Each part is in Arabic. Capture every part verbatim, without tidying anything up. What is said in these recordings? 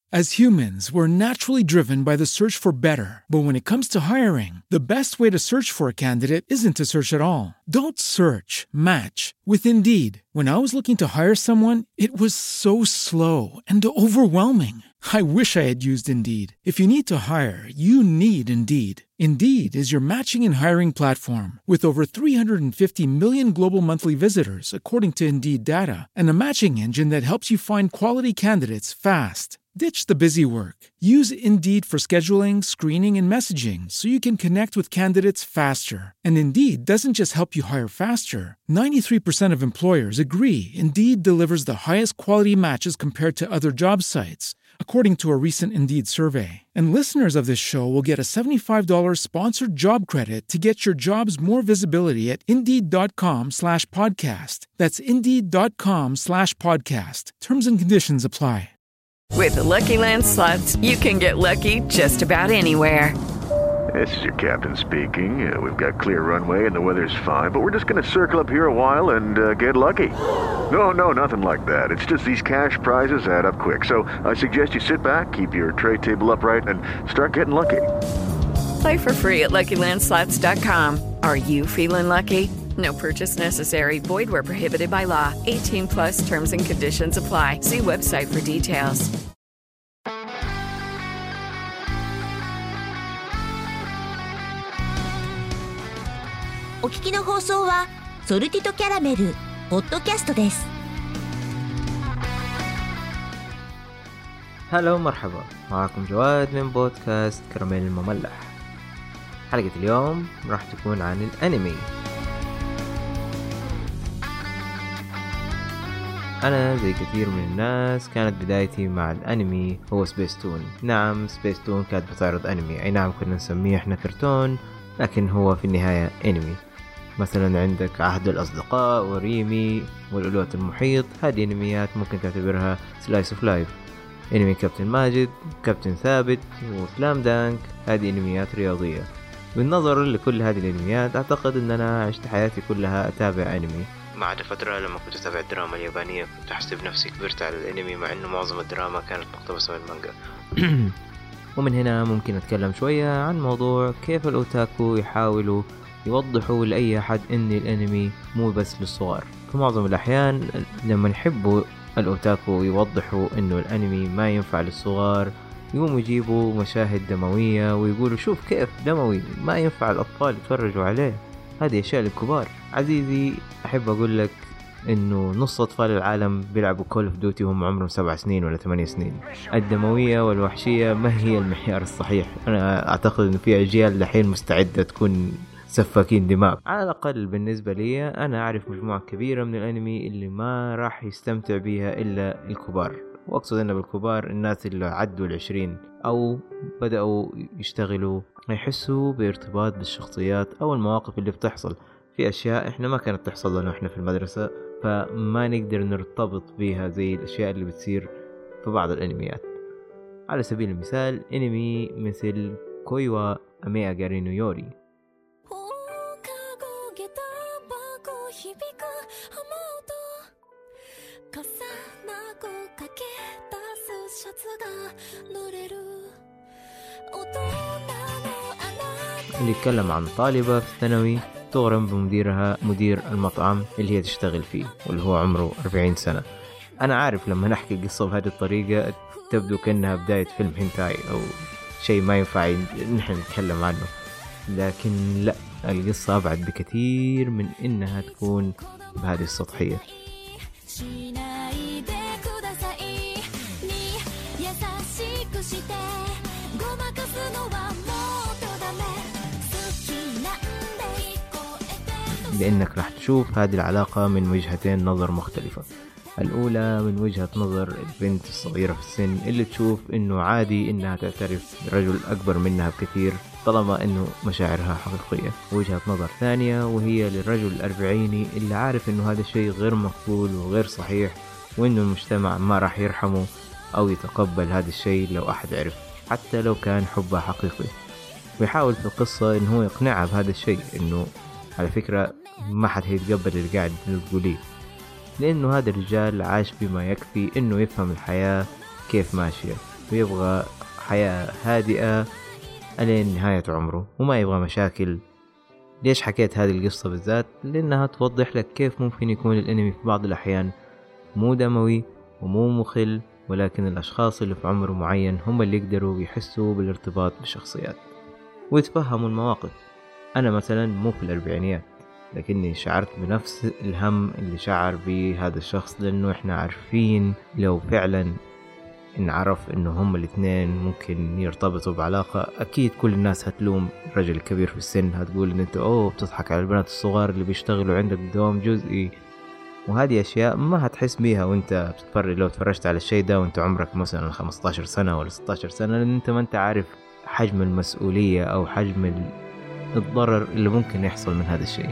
As humans, we're naturally driven by the search for better. But when it comes to hiring, the best way to search for a candidate isn't to search at all. Don't search, match with Indeed. When I was looking to hire someone, it was so slow and overwhelming. I wish I had used Indeed. If you need to hire, you need Indeed. Indeed is your matching and hiring platform with over three hundred fifty million global monthly visitors, according to Indeed data, and a matching engine that helps you find quality candidates fast. Ditch the busy work. Use Indeed for scheduling, screening, and messaging so you can connect with candidates faster. And Indeed doesn't just help you hire faster. ninety-three percent of employers agree Indeed delivers the highest quality matches compared to other job sites, according to a recent Indeed survey. And listeners of this show will get a seventy-five dollars sponsored job credit to get your jobs more visibility at Indeed.com slash podcast. That's Indeed.com slash podcast. Terms and conditions apply. With the Lucky Land Slots, you can get lucky just about anywhere. This is your captain speaking. Uh, we've got clear runway and the weather's fine, but we're just going to circle up here a while and uh, get lucky. No, no, nothing like that. It's just these cash prizes add up quick. So I suggest you sit back, keep your tray table upright, and start getting lucky. Play for free at Lucky Land Slots dot com. Are you feeling lucky? No purchase necessary. Void where prohibited by law. eighteen plus terms and conditions apply. See website for details. お聞きの放送はソルティとキャラメルポッドキャストです。 هلا مرحبا، معكم جواد من بودكاست كراميل المملح. حلقة اليوم راح تكون عن الأنمي. أنا زي كثير من الناس كانت بدايتي مع الأنمي هو سبيستون. نعم، سبيستون كانت بتعرض أنمي، أي نعم كنا نسميه إحنا كرتون، لكن هو في النهاية أنمي. مثلا عندك عهد الأصدقاء وريمي والألوة المحيط، هذه أنميات ممكن تعتبرها سلايس اوف لايف. أنمي كابتن ماجد، كابتن ثابت وسلام دانك، هذه أنميات رياضية. بالنظر لكل هذه الأنميات أعتقد أن أنا عشت حياتي كلها أتابع أنمي، ما عدا فترة لما كنت أتابع الدراما اليابانية كنت أحسب نفسي كبرت على الأنمي، مع أنه معظم الدراما كانت مقتبسة من المانجا. ومن هنا ممكن أتكلم شوية عن موضوع كيف الأوتاكو يحاولوا يوضحوا لأي أحد أن الأنمي مو بس للصغار. في معظم الأحيان لما نحبوا الأوتاكو يوضحوا أنه الأنمي ما ينفع للصغار، يقوموا يجيبوا مشاهد دموية ويقولوا شوف كيف دموي، ما ينفع الأطفال يتفرجوا عليه، هذه أشياء للكبار. عزيزي، أحب أقول لك إنه نص أطفال العالم بيلعبوا كول اوف دوتي وهم عمرهم سبع سنين ولا ثمانية سنين. الدموية والوحشية ما هي المعيار الصحيح. أنا أعتقد إنه في أجيال لحين مستعدة تكون سفاكين دماء. على الأقل بالنسبة لي أنا أعرف مجموعة كبيرة من الأنمي اللي ما راح يستمتع بيها إلا الكبار، وأقصد أن بالكبار الناس اللي عدوا العشرين أو بدأوا يشتغلوا، يحسوا بارتباط بالشخصيات أو المواقف اللي بتحصل. في أشياء إحنا ما كانت تحصل لنا إحنا في المدرسة، فما نقدر نرتبط بيها زي الأشياء اللي بتصير في بعض الأنميات. على سبيل المثال أنمي مثل كويوا أمي أغارينو يوري. اللي يتكلم عن طالبة في الثانوي تغرم بمديرها، مدير المطعم اللي هي تشتغل فيه، واللي هو عمره أربعين سنة. أنا عارف لما نحكي القصة بهذه الطريقة تبدو كأنها بداية فيلم هنتاي أو شيء ما ينفع نحن نتكلم عنه، لكن لا، القصة أبعد بكثير من إنها تكون بهذه السطحية. لأنك راح تشوف هذه العلاقة من وجهتين نظر مختلفة. الأولى من وجهة نظر البنت الصغيرة في السن اللي تشوف إنه عادي إنها تعترف برجل أكبر منها بكثير طالما إنه مشاعرها حقيقية. وجهة نظر ثانية وهي للرجل الأربعيني اللي عارف إنه هذا الشيء غير مقبول وغير صحيح، وإنه المجتمع ما راح يرحمه أو يتقبل هذا الشيء لو أحد عرف، حتى لو كان حبه حقيقي. ويحاول في القصة إنه هو يقنعها بهذا الشيء، إنه على فكرة ما حد هيتقبل اللي قاعد تقوليه، لأنه هذا الرجال عاش بما يكفي إنه يفهم الحياة كيف ماشية، ويبغى حياة هادئة ألين نهاية عمره وما يبغى مشاكل. ليش حكيت هذه القصة بالذات؟ لأنها توضح لك كيف ممكن يكون الأنمي في بعض الأحيان مو دموي ومو مخل، ولكن الأشخاص اللي في عمر معين هم اللي يقدروا يحسوا بالارتباط بالشخصيات ويتفهموا المواقف. أنا مثلا مو في الأربعينيات، لكني شعرت بنفس الهم اللي شعر به هذا الشخص، لأنه إحنا عارفين لو فعلا نعرف إنه هم الاثنين ممكن يرتبطوا بعلاقة، أكيد كل الناس هتلوم الرجل الكبير في السن، هتقول إن أنت أوه بتضحك على البنات الصغار اللي بيشتغلوا عندك بدوام جزئي. وهذه أشياء ما هتحس بيها وأنت بتتفرج، لو تفرجت على الشيء ده وأنت عمرك مثلا خمسة عشر سنة ولا ستة عشر سنة، لأن أنت ما أنت عارف حجم المسؤولية أو حجم الضرر اللي ممكن يحصل من هذا الشيء.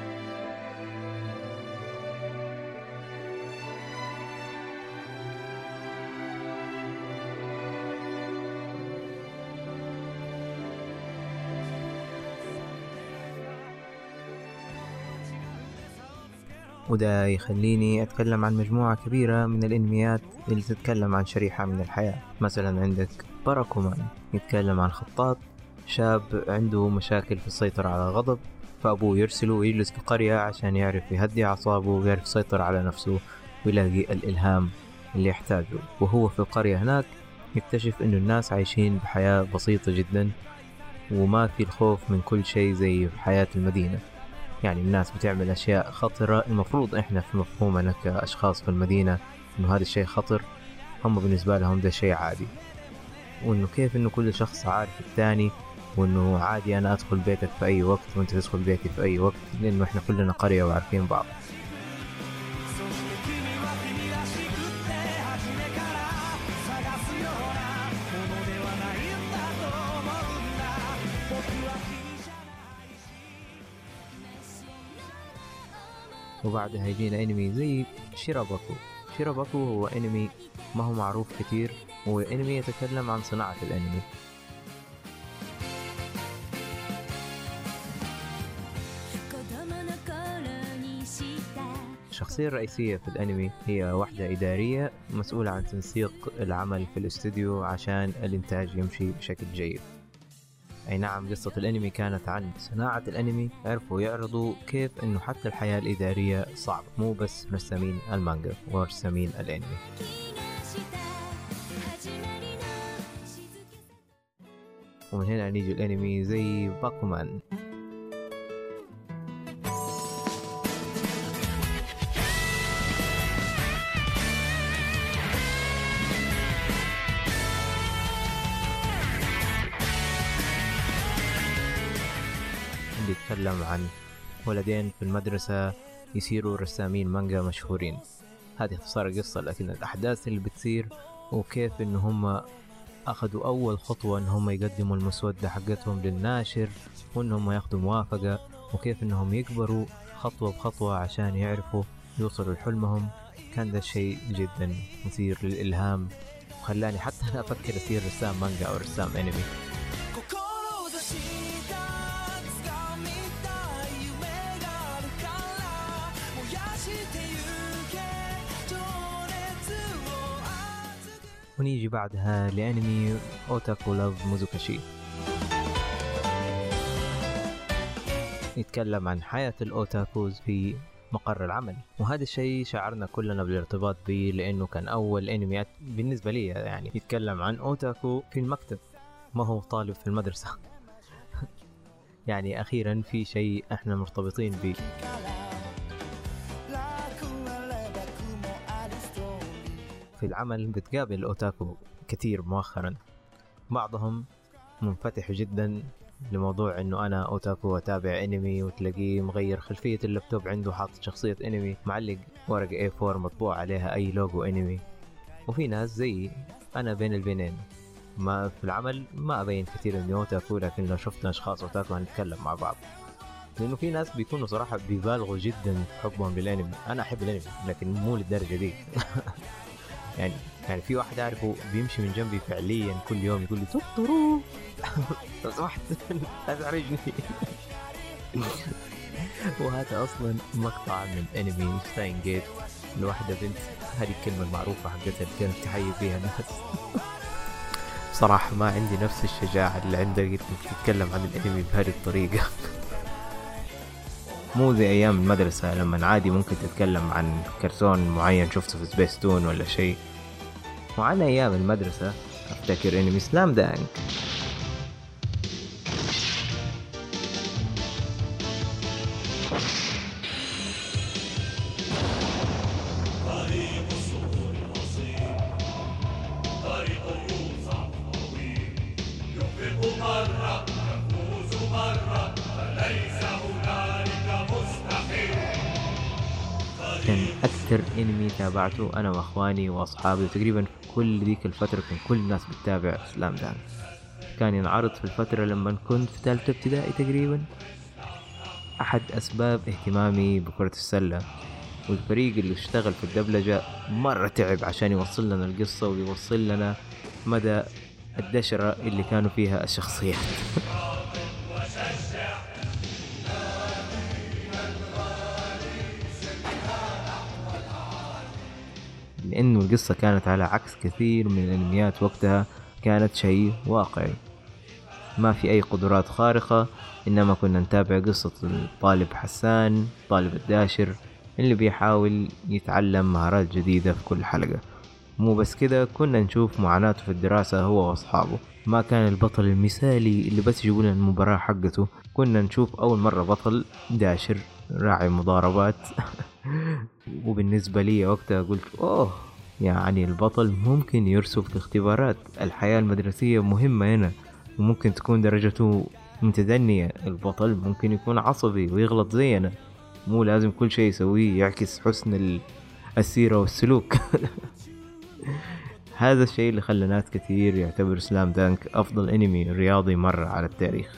وده يخليني أتكلم عن مجموعة كبيرة من الأنميات اللي تتكلم عن شريحة من الحياة. مثلا عندك باراكومان، يتكلم عن خطاط شاب عنده مشاكل في السيطرة على الغضب، فأبوه يرسله ويجلس في قرية عشان يعرف يهدي أعصابه ويعرف يسيطر على نفسه ويلاقي الإلهام اللي يحتاجه. وهو في القرية هناك يكتشف إنه الناس عايشين بحياة بسيطة جدا وما في الخوف من كل شيء زي في حياة المدينة. يعني الناس بتعمل أشياء خطرة، المفروض إحنا في مفهومنا كأشخاص في المدينة إنه هذا الشيء خطر، هم بالنسبة لهم ده شيء عادي. وإنه كيف إنه كل شخص عارف الثاني، وإنه عادي أنا أدخل بيتك في أي وقت وإنت تدخل بيتي في أي وقت، لأنه إحنا كلنا قرية وعارفين بعض. وبعدها يجينا انمي زي شيراباكو. شيراباكو هو انمي ما هو معروف كتير، هو انمي يتكلم عن صناعة الانمي. الشخصية الرئيسية في الانمي هي واحدة إدارية مسؤولة عن تنسيق العمل في الاستوديو عشان الانتاج يمشي بشكل جيد. أي نعم، قصة الأنمي كانت عن صناعة الأنمي، عرفوا يعرضوا كيف إنه حتى الحياة الإدارية صعبة، مو بس رسامين المانجا ورسامين الأنمي. ومن هنا نيجي الأنمي زي باكومان. يتكلم عن ولدين في المدرسة يصيروا رسامين مانجا مشهورين. هذه اختصار القصة، لكن الأحداث اللي بتصير وكيف إن هم أخذوا أول خطوة إن هم يقدموا المسودة حقتهم للناشر وإنهم ياخدوا موافقة، وكيف إنهم يكبروا خطوة بخطوة عشان يعرفوا يوصلوا لحلمهم. كان ده شيء جدا مثير للإلهام وخلاني حتى أنا أفكر أصير رسام مانجا أو رسام أنمي. ونيجي بعدها لأنمي أوتاكو لاف موزوكاشي، يتكلم عن حياة الأوتاكوز في مقر العمل. وهذا الشيء شعرنا كلنا بالارتباط به، لأنه كان أول أنميات بالنسبة لي يعني يتكلم عن أوتاكو في المكتب، ما هو طالب في المدرسة. يعني أخيرا في شيء إحنا مرتبطين به. في العمل بتقابل الأوتاكو كثير مؤخرا، بعضهم منفتح جدا لموضوع انه انا اوتاكو واتابع انمي، وتلاقيه مغير خلفية اللابتوب عنده حاطط شخصية انمي، معلق ورقة إيه فور مطبوع عليها اي لوجو انمي. وفي ناس زي انا بين البينين، ما في العمل ما ابين كثير اني اوتاكو، لكن لو شفنا اشخاص اوتاكو هنتكلم مع بعض، لانه في ناس بيكونوا صراحة بيبالغوا جدا في حبهم للانمي. انا احب الانمي لكن مو للدرجة دي. يعني يعني في واحد أعرفه بيمشي من جنبي فعليا كل يوم يقول لي توترو لو سمحت لا تحرجني. وهذا أصلا مقطع من أنمي ستاين جيت لواحدة بنت، هذه الكلمة المعروفة حقتها اللي كانت تحيي فيها الناس. بصراحة ما عندي نفس الشجاعة اللي عندك انك تتكلم عن الانمي بهذه الطريقة. مو زي ايام المدرسة لما عادي ممكن تتكلم عن كرتون معين شفته في سبيس تون ولا شيء. وعن ايام المدرسة افتكر انمي سلام دانك. كان أكثر إنمي تابعته أنا وأخواني وأصحابي، وتقريبا كل ذيك الفترة كان كل الناس بتتابع سلام دانك. كان ينعرض في الفترة لما كنت في ثالثة ابتدائي تقريبا. أحد أسباب اهتمامي بكرة السلة والفريق اللي اشتغل في الدبلجة مرة تعب عشان يوصل لنا القصة ويوصل لنا مدى الدشرة اللي كانوا فيها الشخصيات. لأنه القصة كانت على عكس كثير من الأنميات وقتها، كانت شيء واقعي، ما في أي قدرات خارقة، إنما كنا نتابع قصة الطالب حسان، طالب الداشر اللي بيحاول يتعلم مهارات جديدة في كل حلقة. مو بس كده، كنا نشوف معاناته في الدراسة هو وأصحابه. ما كان البطل المثالي اللي بس يقول المباراة حقته، كنا نشوف أول مرة بطل داشر راعي مضاربات. وبالنسبة لي وقتها قلت أوه، يعني البطل ممكن يرسب في اختبارات الحياة المدرسية مهمة هنا، وممكن تكون درجته متدنية. البطل ممكن يكون عصبي ويغلط زينا، مو لازم كل شيء يسويه يعكس حسن السيرة والسلوك. هذا الشيء اللي خلى ناس كثير يعتبر سلام دانك أفضل أنمي رياضي مرة على التاريخ.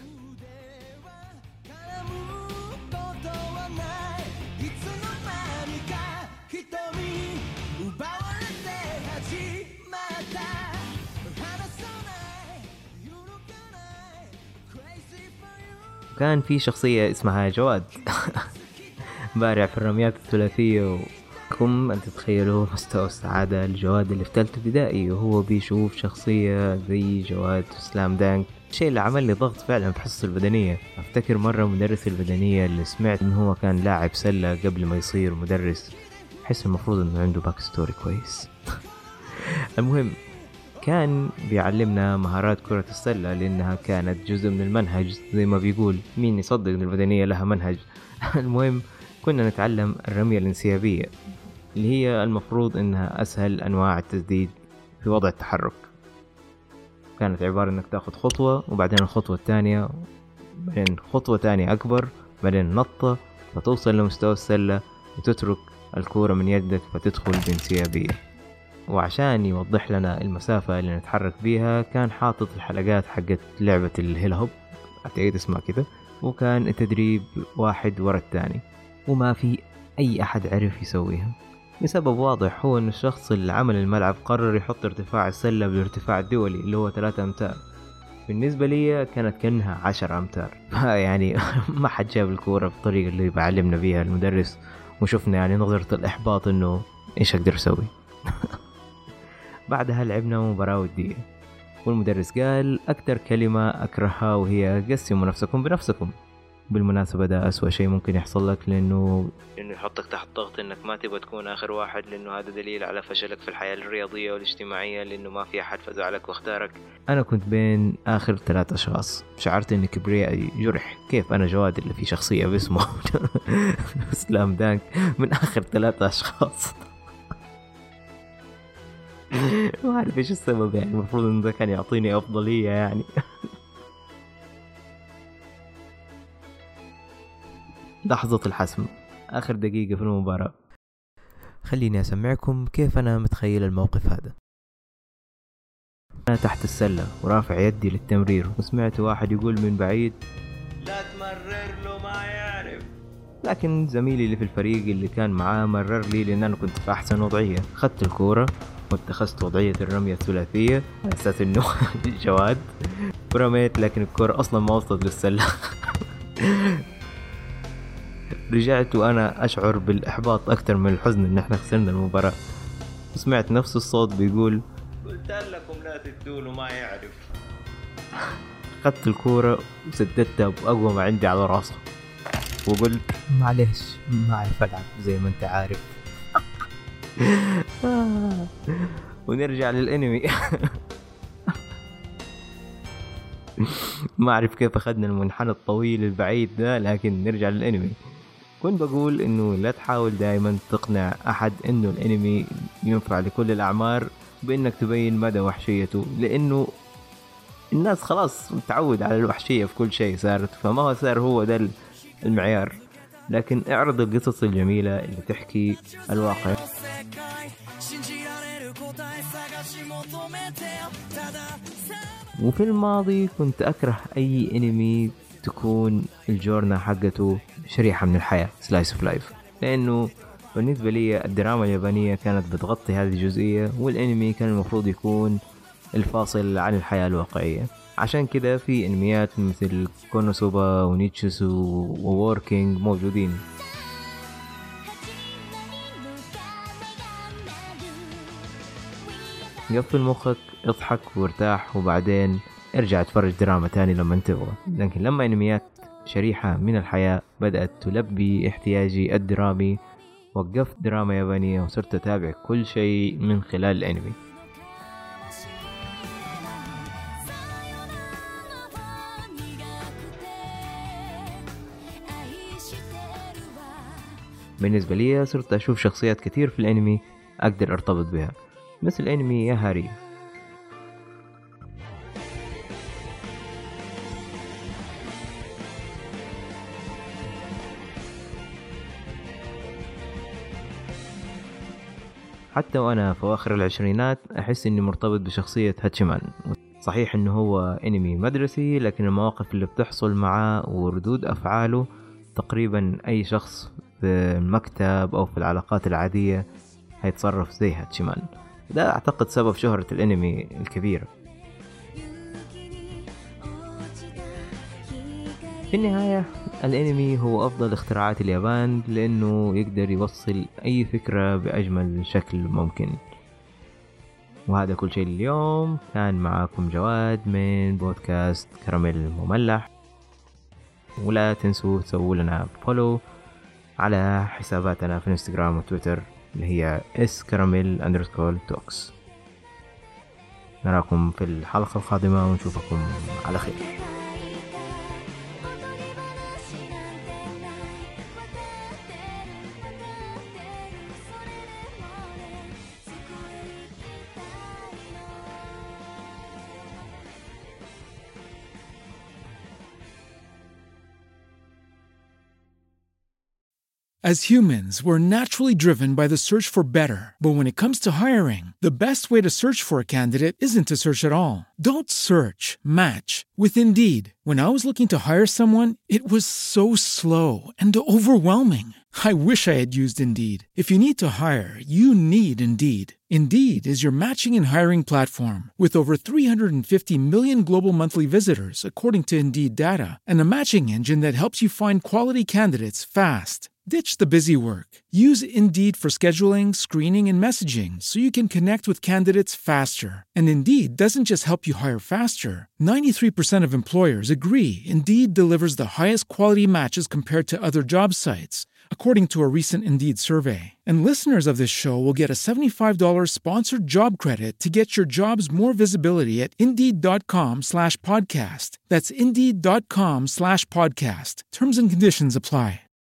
كان في شخصية اسمها جواد بارع في الرميات الثلاثية، وكم أن تتخيلوا مستوى السعادة الجواد اللي في ثالثة ابتدائي وهو بيشوف شخصية زي جواد سلام دانك. الشيء اللي عمل لي ضغط فعلا في حصة البدنية. أفتكر مرة مدرس البدنية اللي سمعت إنه هو كان لاعب سلة قبل ما يصير مدرس، حس المفروض إنه عنده باك ستوري كويس. المهم كان بيعلمنا مهارات كرة السلة لأنها كانت جزء من المنهج، زي ما بيقول مين يصدق إن البدنية لها منهج. المهم كنا نتعلم الرمية الانسيابية اللي هي المفروض إنها أسهل أنواع التسديد في وضع التحرك. كانت عبارة إنك تأخذ خطوة وبعدين الخطوة الثانية، بعدين خطوة تانية أكبر، بعدين نطة فتوصل لمستوى السلة وتترك الكورة من يدك فتدخل بانسيابية. وعشان يوضح لنا المسافة اللي نتحرك بيها كان حاطط الحلقات حقت لعبة الهيلا هوب، أعتقد اسمها كده، وكان التدريب واحد ورا الثاني، وما في أي أحد عرف يسويها لسبب واضح، هو أن الشخص اللي عمل الملعب قرر يحط ارتفاع السلة بالارتفاع الدولي اللي هو ثلاثة أمتار. بالنسبة لي كانت كأنها عشر أمتار. يعني ما حد جاب الكورة بالطريقة اللي بعلمنا بيها المدرس، وشفنا يعني نظرة الإحباط إنه إيش أقدر أسوي. بعدها لعبنا مباراة ودية، والمدرس قال أكتر كلمة أكرهها وهي قسموا نفسكم بنفسكم. بالمناسبة ده أسوأ شيء ممكن يحصل لك، لأنه إنه يحطك تحت ضغط إنك ما تبغى تكون آخر واحد، لأنه هذا دليل على فشلك في الحياة الرياضية والاجتماعية، لأنه ما في أحد فزعلك واختارك. أنا كنت بين آخر ثلاث أشخاص، شعرت إن كبريائي جرح. كيف أنا جواد اللي في شخصية باسمه سلام دانك من آخر ثلاثة أشخاص؟ ما أعرف إيش السبب، يعني المفروض إنه ده كان يعطيني أفضلية يعني. لحظة الحسم، آخر دقيقة في المباراة. خليني أسمعكم كيف أنا متخيل الموقف هذا. أنا تحت السلة ورافع يدي للتمرير، وسمعت واحد يقول من بعيد لا تمرر له ما يعرف، لكن زميلي اللي في الفريق اللي كان معاه مرر لي لأن أنا كنت في أحسن وضعية. خدت الكورة واتخذت وضعية الرمية الثلاثية على أساس إنه جواد، ورميت لكن الكورة أصلا ما وصلت للسلة. رجعت وأنا أشعر بالإحباط أكثر من الحزن إن إحنا خسرنا المباراة. سمعت نفس الصوت بيقول قلت لكم لا تدونه ما يعرف. أخذت الكورة وسددتها بأقوى ما عندي على راسه وقلت معليش ما أعرف ألعب زي ما أنت عارف. ونرجع للأنمي. ما أعرف كيف أخذنا المنحنى الطويل البعيد ده، لكن نرجع للأنمي. كنت بقول إنه لا تحاول دائما تقنع أحد إنه الأنمي ينفع لكل الأعمار بإنك تبين مدى وحشيته، لأنه الناس خلاص متعود على الوحشية في كل شيء صارت، فما هو صار هو ده المعيار. لكن اعرض القصص الجميلة اللي تحكي الواقع. وفي الماضي كنت أكره أي أنمي تكون الجورنا حقته شريحة من الحياة سلايس اوف لايف، لأنه بالنسبة لي الدراما اليابانية كانت بتغطي هذه الجزئية، والأنمي كان المفروض يكون الفاصل عن الحياة الواقعية. عشان كده في أنميات مثل كونوسوبا ونيتشوسو ووركينج موجودين. قفل مخك، اضحك وارتاح، وبعدين ارجع اتفرج دراما تاني لما تبغى. لكن لما انميات شريحة من الحياة بدأت تلبي احتياجي الدرامي، وقفت دراما يابانية وصرت اتابع كل شيء من خلال الانمي. بالنسبة لي صرت اشوف شخصيات كتير في الانمي اقدر ارتبط بها، مثل انمي يا هاري. حتى وانا في اواخر العشرينات احس اني مرتبط بشخصية هاتشيمان. صحيح انه هو انمي مدرسي، لكن المواقف اللي بتحصل معاه وردود افعاله تقريبا اي شخص في المكتب او في العلاقات العادية هيتصرف زي هاتشيمان. ده اعتقد سبب شهرة الانمي الكبيرة. في النهاية الانمي هو افضل اختراعات اليابان، لانه يقدر يوصل اي فكرة باجمل شكل ممكن. وهذا كل شيء اليوم. كان معاكم جواد من بودكاست كراميل المملح، ولا تنسوا تسووا لنا فولو على حساباتنا في انستغرام وتويتر اللي هي اس كراميل اندرسكول توكس. نراكم في الحلقة القادمة ونشوفكم على خير. As humans, we're naturally driven by the search for better. But when it comes to hiring, the best way to search for a candidate isn't to search at all. Don't search, match with Indeed. When I was looking to hire someone, it was so slow and overwhelming. I wish I had used Indeed. If you need to hire, you need Indeed. Indeed is your matching and hiring platform with over three hundred fifty million global monthly visitors, according to Indeed data, and a matching engine that helps you find quality candidates fast. Ditch the busy work. Use Indeed for scheduling, screening, and messaging so you can connect with candidates faster. And Indeed doesn't just help you hire faster. ninety-three percent of employers agree Indeed delivers the highest quality matches compared to other job sites, according to a recent Indeed survey. And listeners of this show will get a seventy-five dollars sponsored job credit to get your jobs more visibility at Indeed.com slash podcast. That's Indeed.com slash podcast. Terms and conditions apply.